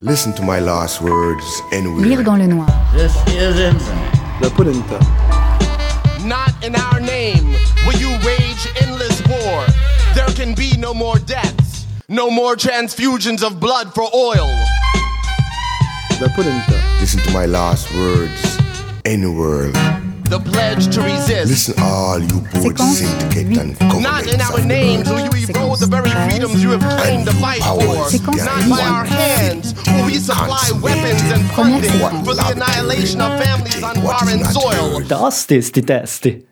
Listen to my last words anyway. Lire dans le noir. This is infinite. La polenta. Not in our name will you wage endless war. There can be no more deaths, no more transfusions of blood for oil. La polenta. Listen to my last words anywhere. The pledge to resist. Listen all you both Séquence syndicate and governments Not in our of the names will world. you erode the very freedoms you have claimed to fight for. Séquence Not by our hands will we supply weapons and funding for the annihilation of families on foreign soil. Tosti sti testi.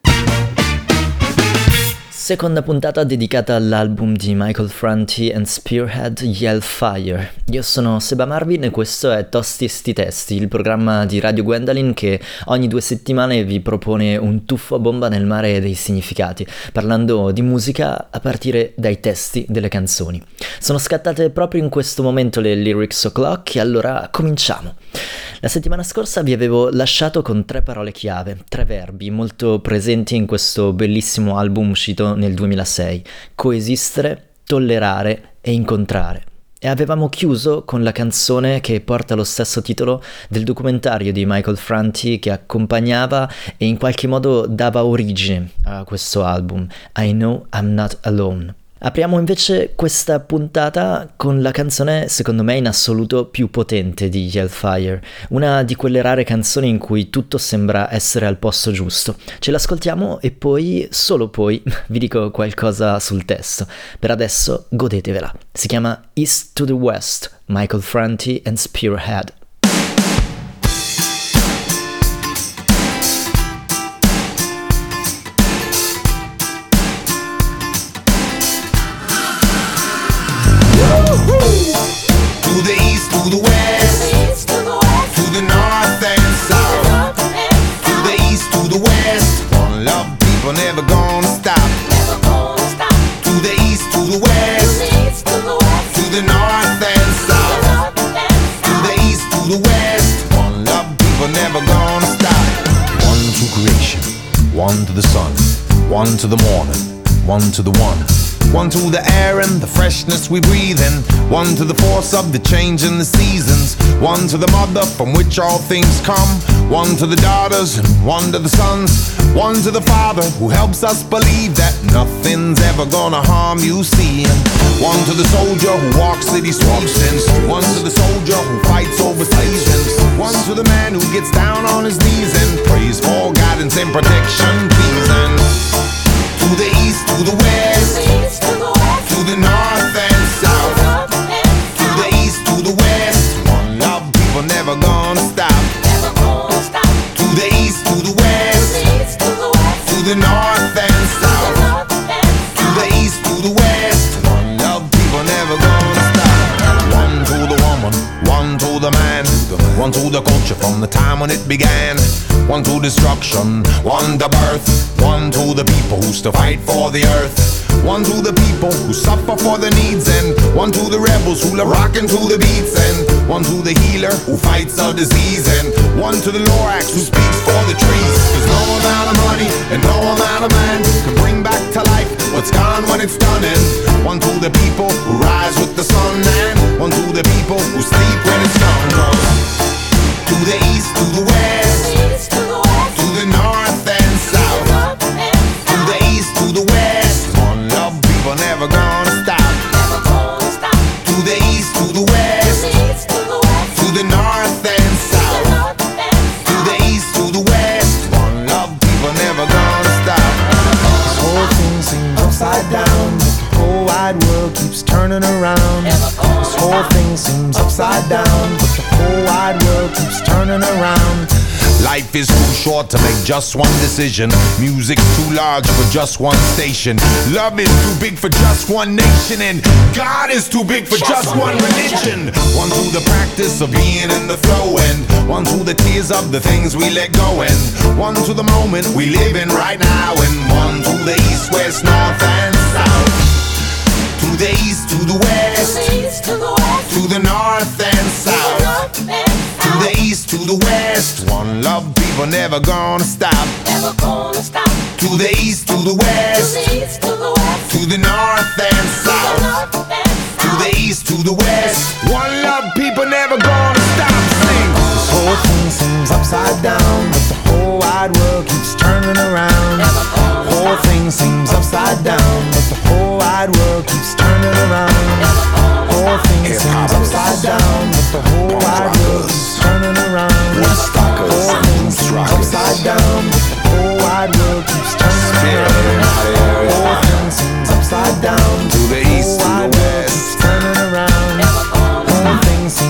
Seconda puntata dedicata all'album di Michael Franti and Spearhead Yellfire. Io sono Seba Marvin e questo è Tosti sti testi, il programma di Radio Gwendolyn che ogni 2 settimane vi propone un tuffo a bomba nel mare dei significati, parlando di musica a partire dai testi delle canzoni. Sono scattate proprio in questo momento le Lyrics O'Clock e allora cominciamo. La settimana scorsa vi avevo lasciato con 3 parole chiave, 3 verbi molto presenti in questo bellissimo album uscito nel 2006: coesistere, tollerare e incontrare. E avevamo chiuso con la canzone che porta lo stesso titolo del documentario di Michael Franti che accompagnava e in qualche modo dava origine a questo album, I Know I'm Not Alone. Apriamo invece questa puntata con la canzone secondo me in assoluto più potente di Yellfire, una di quelle rare canzoni in cui tutto sembra essere al posto giusto. Ce l'ascoltiamo e poi, solo poi, vi dico qualcosa sul testo. Per adesso godetevela. Si chiama East to the West, Michael Franti and Spearhead. To the east, to the west, to the north and south, to the east, to the west. One love, people never gonna stop. To the east, to the west, to the north and south, to the east, to the west. One love, people never gonna stop. One to creation, one to the sun, one to the morning, one to the one. One to the air and the freshness we breathe in. One to the force of the change in the seasons. One to the mother from which all things come. One to the daughters and one to the sons. One to the father who helps us believe that nothing's ever gonna harm you, see. One to the soldier who walks city streets. And one to the soldier who fights over seasons. One to the man who gets down on his knees and prays for guidance and protection, please. And to the east, to the west, to the north and south, to the east, to the west. One love, people never gonna stop. To the east, to the west, to the north and south, to the east, to the west. One love, people never gonna stop. One to the woman, one to the man, one to the culture from the time when it began. One to destruction, one to birth, one to the people who still fight for the earth. One to the people who suffer for their needs, and one to the rebels who love rockin' to the beats, and one to the healer who fights a disease, and one to the Lorax who speaks for the trees. There's no amount of money and no amount of man can bring back to life what's gone when it's done. And one to the people who rise with the sun, and one to the people who sleep when it's done. To the east, to the west, to the north and south, to the east, to the west. One love, people never gonna stop. To the east, to the west, to the north and south, to the east, to the west. One love, people never gonna stop. This whole thing seems upside down. The whole wide world keeps turning around. This whole thing seems upside down, but the whole wide world keeps turning around. Life is too short to make just one decision. Music's too large for just one station. Love is too big for just one nation, and God is too big for just one religion. One to the practice of being in the flow, and one to the tears of the things we let go, and one to the moment we live in right now, and one to the east, west, north, and south. To the east, to the west, to the north and south, to the east, to the west. One love, people never gonna stop. To the east, to the west, to the north and south, to the east, to the west. One love, people never gonna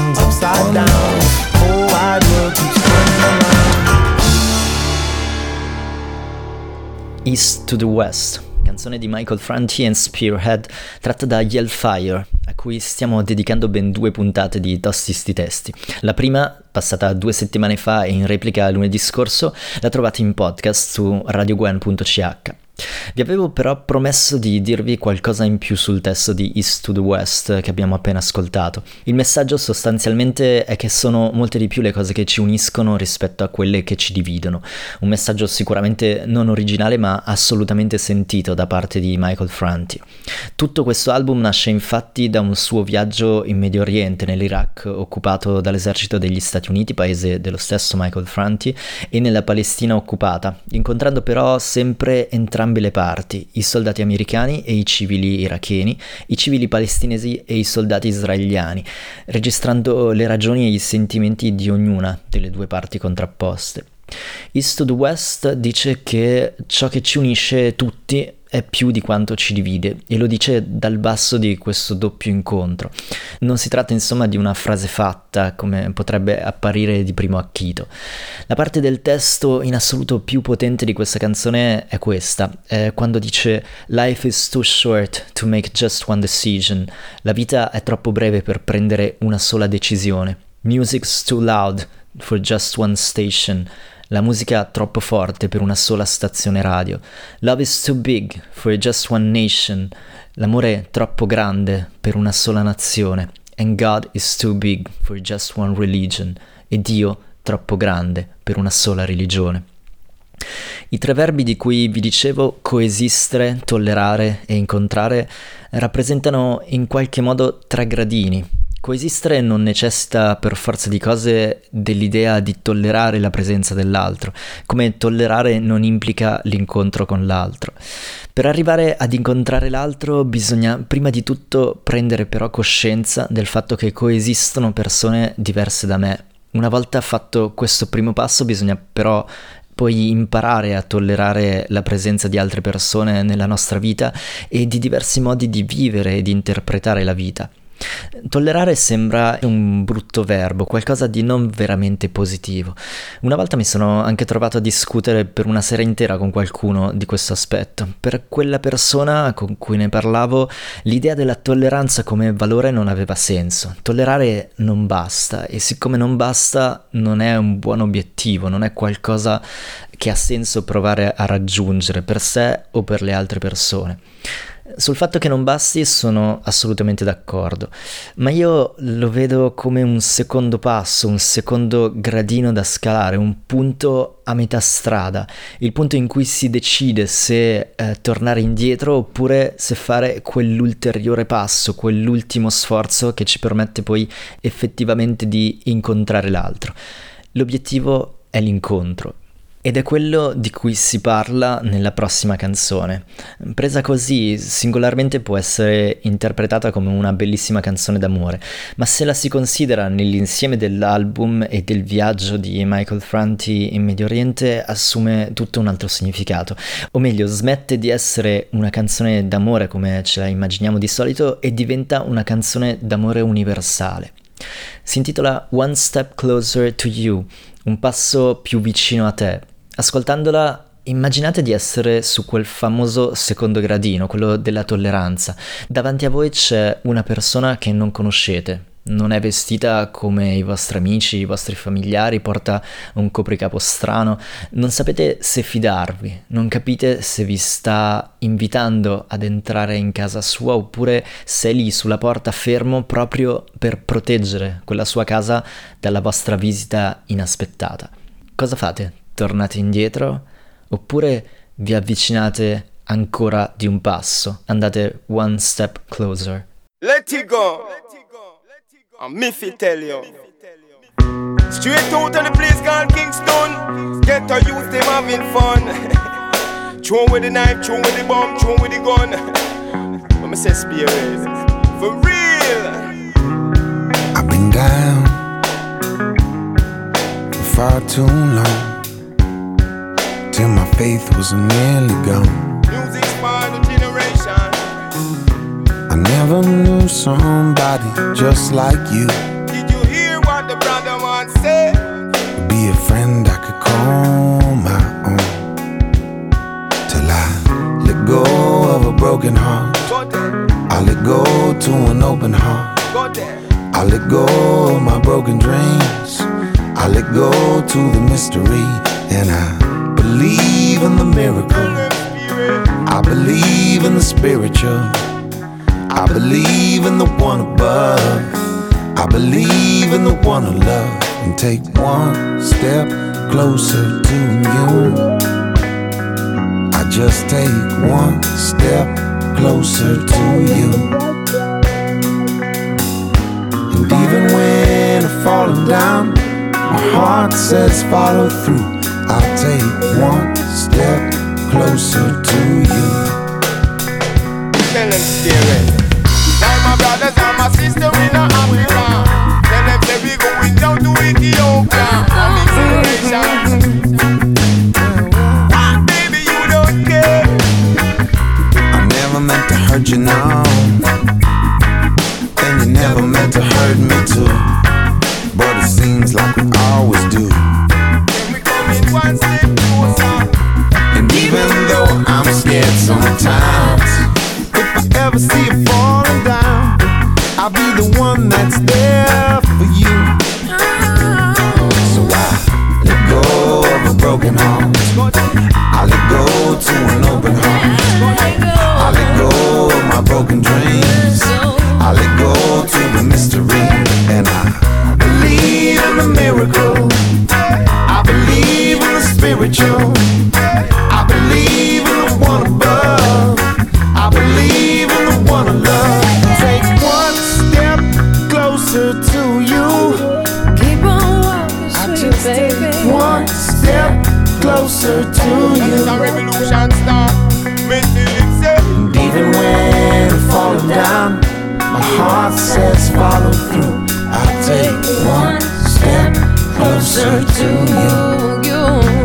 seems upside down. The whole wide world keeps turning around. East to the West, canzone di Michael Franti and Spearhead, tratta da Yellfire, a cui stiamo dedicando ben 2 puntate di Tosti sti testi. La prima, passata 2 settimane fa e in replica lunedì scorso, la trovate in podcast su radiogwen.ch. Vi avevo però promesso di dirvi qualcosa in più sul testo di East to the West che abbiamo appena ascoltato. Il messaggio sostanzialmente è che sono molte di più le cose che ci uniscono rispetto a quelle che ci dividono. Un messaggio sicuramente non originale ma assolutamente sentito da parte di Michael Franti. Tutto questo album nasce infatti da un suo viaggio in Medio Oriente, nell'Iraq occupato dall'esercito degli Stati Uniti, paese dello stesso Michael Franti, e nella Palestina occupata, incontrando però sempre entrambi le parti, i soldati americani e i civili iracheni, i civili palestinesi e i soldati israeliani, registrando le ragioni e i sentimenti di ognuna delle 2 parti contrapposte. East to the West dice che ciò che ci unisce tutti è più di quanto ci divide, e lo dice dal basso di questo doppio incontro. Non si tratta insomma di una frase fatta, come potrebbe apparire di primo acchito. La parte del testo in assoluto più potente di questa canzone è questa, è quando dice "Life is too short to make just one decision". La vita è troppo breve per prendere una sola decisione. Music's too loud for just one station. La musica troppo forte per una sola stazione radio. Love is too big for just one nation. L'amore troppo grande per una sola nazione. And God is too big for just one religion. E Dio troppo grande per una sola religione. I 3 verbi di cui vi dicevo, coesistere, tollerare e incontrare, rappresentano in qualche modo 3 gradini. Coesistere non necessita per forza di cose dell'idea di tollerare la presenza dell'altro, come tollerare non implica l'incontro con l'altro. Per arrivare ad incontrare l'altro bisogna prima di tutto prendere però coscienza del fatto che coesistono persone diverse da me. Una volta fatto questo primo passo bisogna però poi imparare a tollerare la presenza di altre persone nella nostra vita e di diversi modi di vivere e di interpretare la vita. Tollerare sembra un brutto verbo, qualcosa di non veramente positivo. Una volta mi sono anche trovato a discutere per una sera intera con qualcuno di questo aspetto. Per quella persona con cui ne parlavo, l'idea della tolleranza come valore non aveva senso. Tollerare non basta, e siccome non basta non è un buon obiettivo, non è qualcosa che ha senso provare a raggiungere per sé o per le altre persone. Sul fatto che non basti sono assolutamente d'accordo, ma io lo vedo come un secondo passo, un secondo gradino da scalare, un punto a metà strada, il punto in cui si decide se tornare indietro oppure se fare quell'ulteriore passo, quell'ultimo sforzo che ci permette poi effettivamente di incontrare l'altro. L'obiettivo è l'incontro. Ed è quello di cui si parla nella prossima canzone. Presa così, singolarmente può essere interpretata come una bellissima canzone d'amore, ma se la si considera nell'insieme dell'album e del viaggio di Michael Franti in Medio Oriente, assume tutto un altro significato. O meglio, smette di essere una canzone d'amore come ce la immaginiamo di solito e diventa una canzone d'amore universale. Si intitola One Step Closer to You, un passo più vicino a te. Ascoltandola immaginate di essere su quel famoso secondo gradino, quello della tolleranza. Davanti a voi c'è una persona che non conoscete, non è vestita come i vostri amici, i vostri familiari, porta un copricapo strano, non sapete se fidarvi, non capite se vi sta invitando ad entrare in casa sua oppure se è lì sulla porta fermo proprio per proteggere quella sua casa dalla vostra visita inaspettata. Cosa fate? Tornate indietro oppure vi avvicinate ancora di un passo, andate one step closer? Let it go. And me fi tell you. Straight out of the place called Kingston. Get a youth them having fun. Throw with the knife, throw with the bomb, throw with the gun. Let me say spirit. For real. I've been down for far too long, till my faith was nearly gone. Music's for the generation. I never knew somebody just like you. Did you hear? go to the mystery, and I believe in the miracle. I believe in the spiritual. I believe in the one above. I believe in the one I love. And take one step closer to you. I just take one step closer to you. And even when I'm falling down, my heart says follow through. I'll take one step closer to you. Tell them scary. Like my brothers and my sister in Africa. Tell them say we going down to Ethiopia. I'm in celebration. Baby, you don't care. I never meant to hurt you, no. And you never meant to hurt me too. But it seems like we always do. We coming one step closer. And even though I'm scared sometimes, if I ever see you falling down, I'll be the one that's there for you. So I let go of a broken heart. I let go to an open heart. I let go of my broken dreams. I let go to the mystery. And I believe in the miracle. I believe in the spiritual. I believe in the one above. I believe in the one I love. Take one step closer to you. Keep on walking, sweet baby. One step closer to you. It's a revolution start. And even when I'm falling down, my heart says follow through. I take one step closer to you.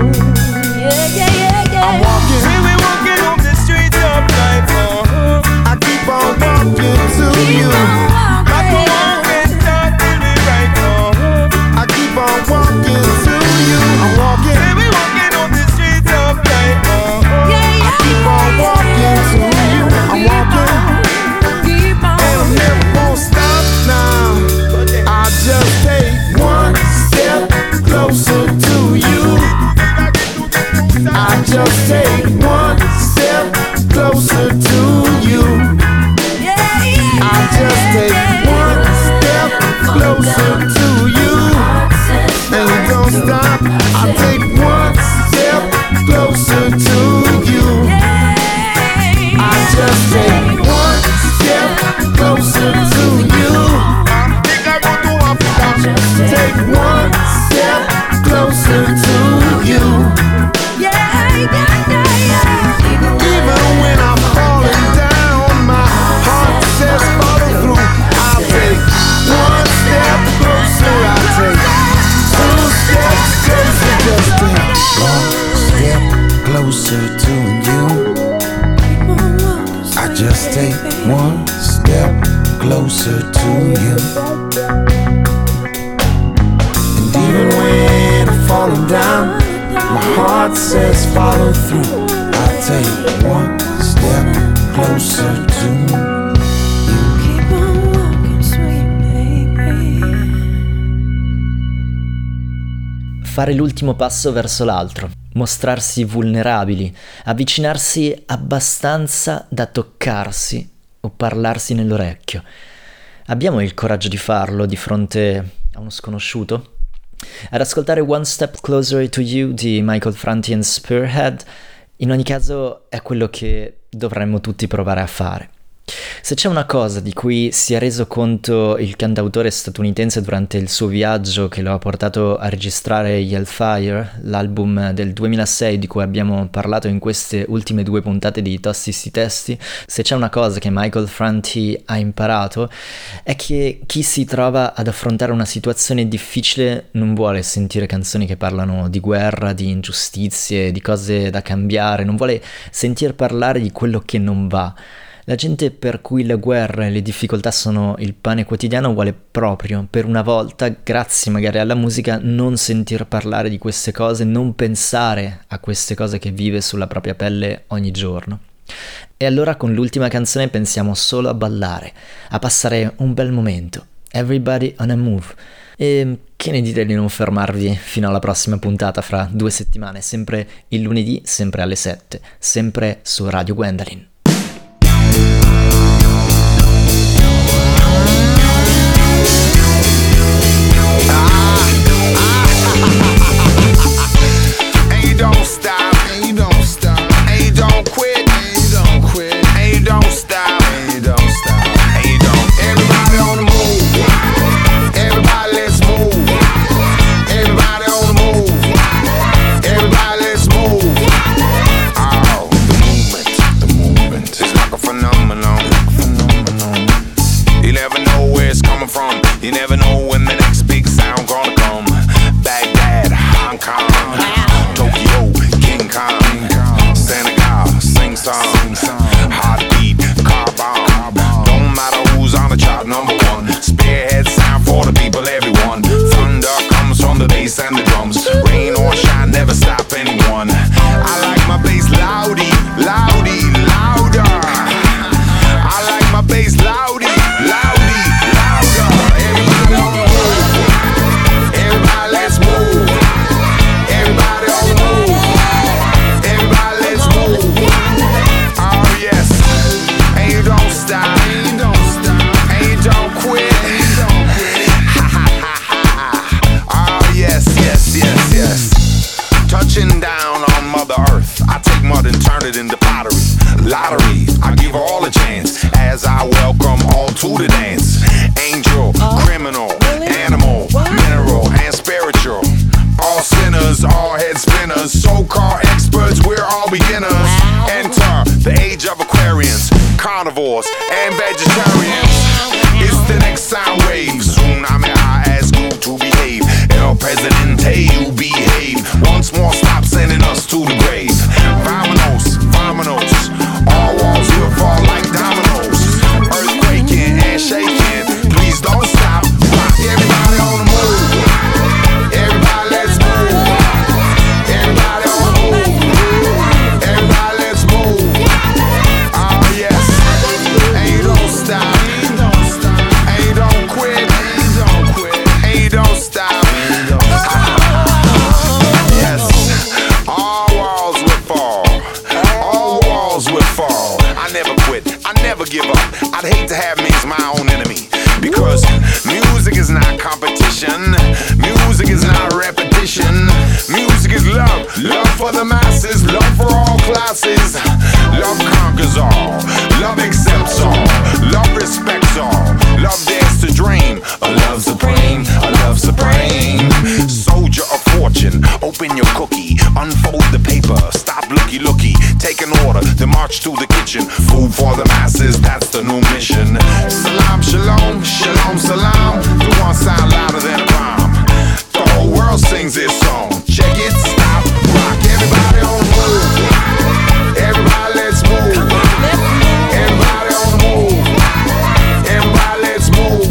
I'm walking. See we walking up the streets of life. I keep on walking to you. I go on and start till we right now. I keep on walking to you. I'm walking. See we walking up the streets of life. I keep on walking to you. I'm walking. And I'm never gonna stop now. I just take one step closer to you. I just take one step closer to you. I just take one step closer to you. And you don't stop. I take one step closer to you. I just take one step closer to you. Think I go to Africa. Take one step closer to you. Even when I'm falling down, my heart says follow through. I'll take one step closer. I'll take two steps closer. Just take one step closer to you. I just take one step closer to you. And even when I'm falling down, my heart says follow through. I take one step closer to you. Keep on walking, sweet baby. Fare l'ultimo passo verso l'altro, mostrarsi vulnerabili, avvicinarsi abbastanza da toccarsi o parlarsi nell'orecchio. Abbiamo il coraggio di farlo di fronte a uno sconosciuto? Ad ascoltare One Step Closer to You di Michael Franti and Spearhead, in ogni caso è quello che dovremmo tutti provare a fare. Se c'è una cosa di cui si è reso conto il cantautore statunitense durante il suo viaggio che lo ha portato a registrare Hellfire, l'album del 2006 di cui abbiamo parlato in queste ultime 2 puntate di Tosti sti testi, se c'è una cosa che Michael Franti ha imparato è che chi si trova ad affrontare una situazione difficile non vuole sentire canzoni che parlano di guerra, di ingiustizie, di cose da cambiare, non vuole sentir parlare di quello che non va. La gente per cui la guerra e le difficoltà sono il pane quotidiano vuole proprio, per una volta, grazie magari alla musica, non sentir parlare di queste cose, non pensare a queste cose che vive sulla propria pelle ogni giorno. E allora con l'ultima canzone pensiamo solo a ballare, a passare un bel momento. Everybody on a move. E che ne dite di non fermarvi fino alla prossima puntata fra 2 settimane, sempre il lunedì, sempre alle 7, sempre su Radio Gwendolyn. Don't stop, and you don't stop, and you don't quit, and you don't quit, and you don't stop, and you don't stop, and you don't. Everybody on the move, everybody let's move, everybody on the move, everybody let's move. Oh, the movement is like a phenomenon. You never know where it's coming from, you never know when the next big sound gonna come. Baghdad, Hong Kong, Tokyo, King Kong, Senegal, sing songs, heartbeat, car bomb. Don't matter who's on the chart, number one. Spearhead sound for the people, everyone. Thunder comes from the bass and the drums. Rain or shine, never stop anyone. I like my bass loudy, loudy, louder. I like my bass loudy, loudy, louder. Everybody on the move, everybody let's move. Everybody on the move, everybody let's move. Oh yes, and you don't stop, and you don't stop, and you don't quit, and you don't quit. Ha ha ha ha. Oh yes, yes, yes, yes. Touching down on Mother Earth, I take mud and turn it into pottery. Lottery, I give all a chance as I welcome all to the dance. Angel, criminal, animal, mineral, and spiritual. All sinners, all head spinners, so-called experts, we're all beginners. Enter the age of Aquarians, carnivores, and vegetarians. It's the next sound wave. Soon I ask you to behave. El Presidente, you behave. Once more, stop sending us to the grave. Vamonos, vamonos. All walls will fall like dominoes. Earthquaking and shaking. Please don't stop. Rock everybody on the move. Everybody let's move. Everybody on the move. Everybody let's move. Oh yes. And you don't stop. And you don't quit. And you don't stop. Yes. All walls will fall. All walls will fall. I never quit. I never give up. I'd hate to have me as my own enemy. Because music is not competition. Music is not repetition. Music is love. Love for the masses. Love for all classes. Love conquers all. Love accepts all. Love respects all. Love dares to dream. A love supreme. A love supreme. Soldier of fortune. Open your cookie. Unfold the paper. Stop looky looky. Take an order. Then march to the kitchen. Food for the masses. That's the new mission. Salam shalom. Shalom salam. The one sound louder than a bomb. The whole world sings this song. Check it, stop, rock. Everybody on the move. Everybody let's move. Everybody on the move. Everybody let's move.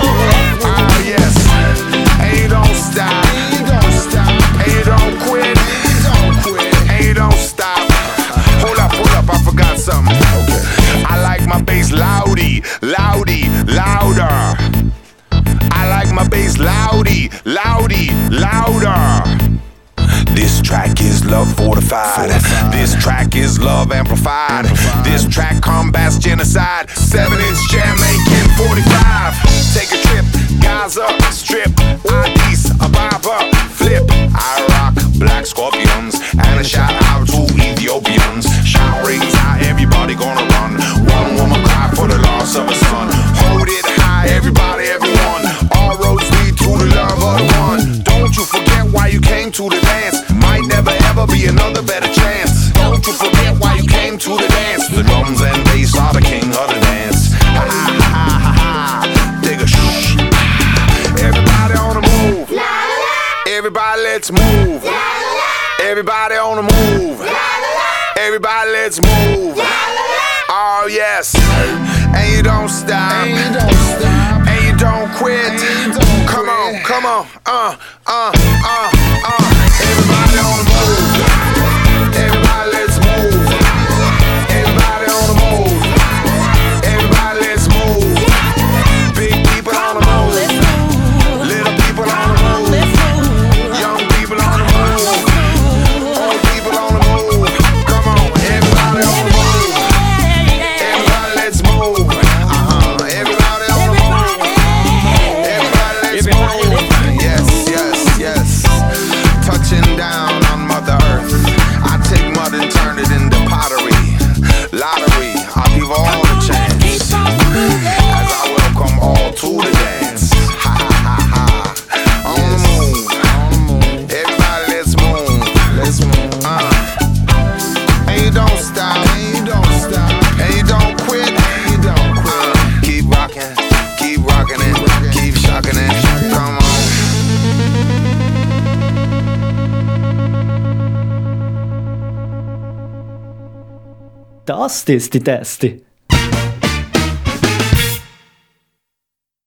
Oh yes. And you don't stop. And you don't quit. And you don't stop. Hold up, I forgot something. Okay. I like my bass loudy, loudy, louder. I like my bass loudy, loudy, louder. This track is love fortified. This track is love amplified. This track combats genocide. 7-inch Jamaican 45. Take a trip, Gaza, strip, Addis Ababa, flip. I rock black scorpions and a shout out to Ethiopians. Shout rings out, everybody gonna run. One woman cry for the loss of a son. Hold it high, everybody, everyone. All roads lead to the love of the one. Don't you forget why you came to the dance. Might never ever be another better chance. Don't you forget why you came to the dance. The drums and bass are the king of the dance. Ha ha ha ha ha. Take a shh. Everybody on the move. Everybody let's move. Everybody on the move. Everybody let's move. Oh yes. And you don't stop. And you don't quit. Come on, come on. Everybody on the move. Everybody let's move. Everybody on the move. Everybody let's move. Big people on the move. Little people you don't stop, and you don't stop, and you don't quit, and you don't quit. Keep rocking it, keep shocking it. Come on. Tosti sti testi.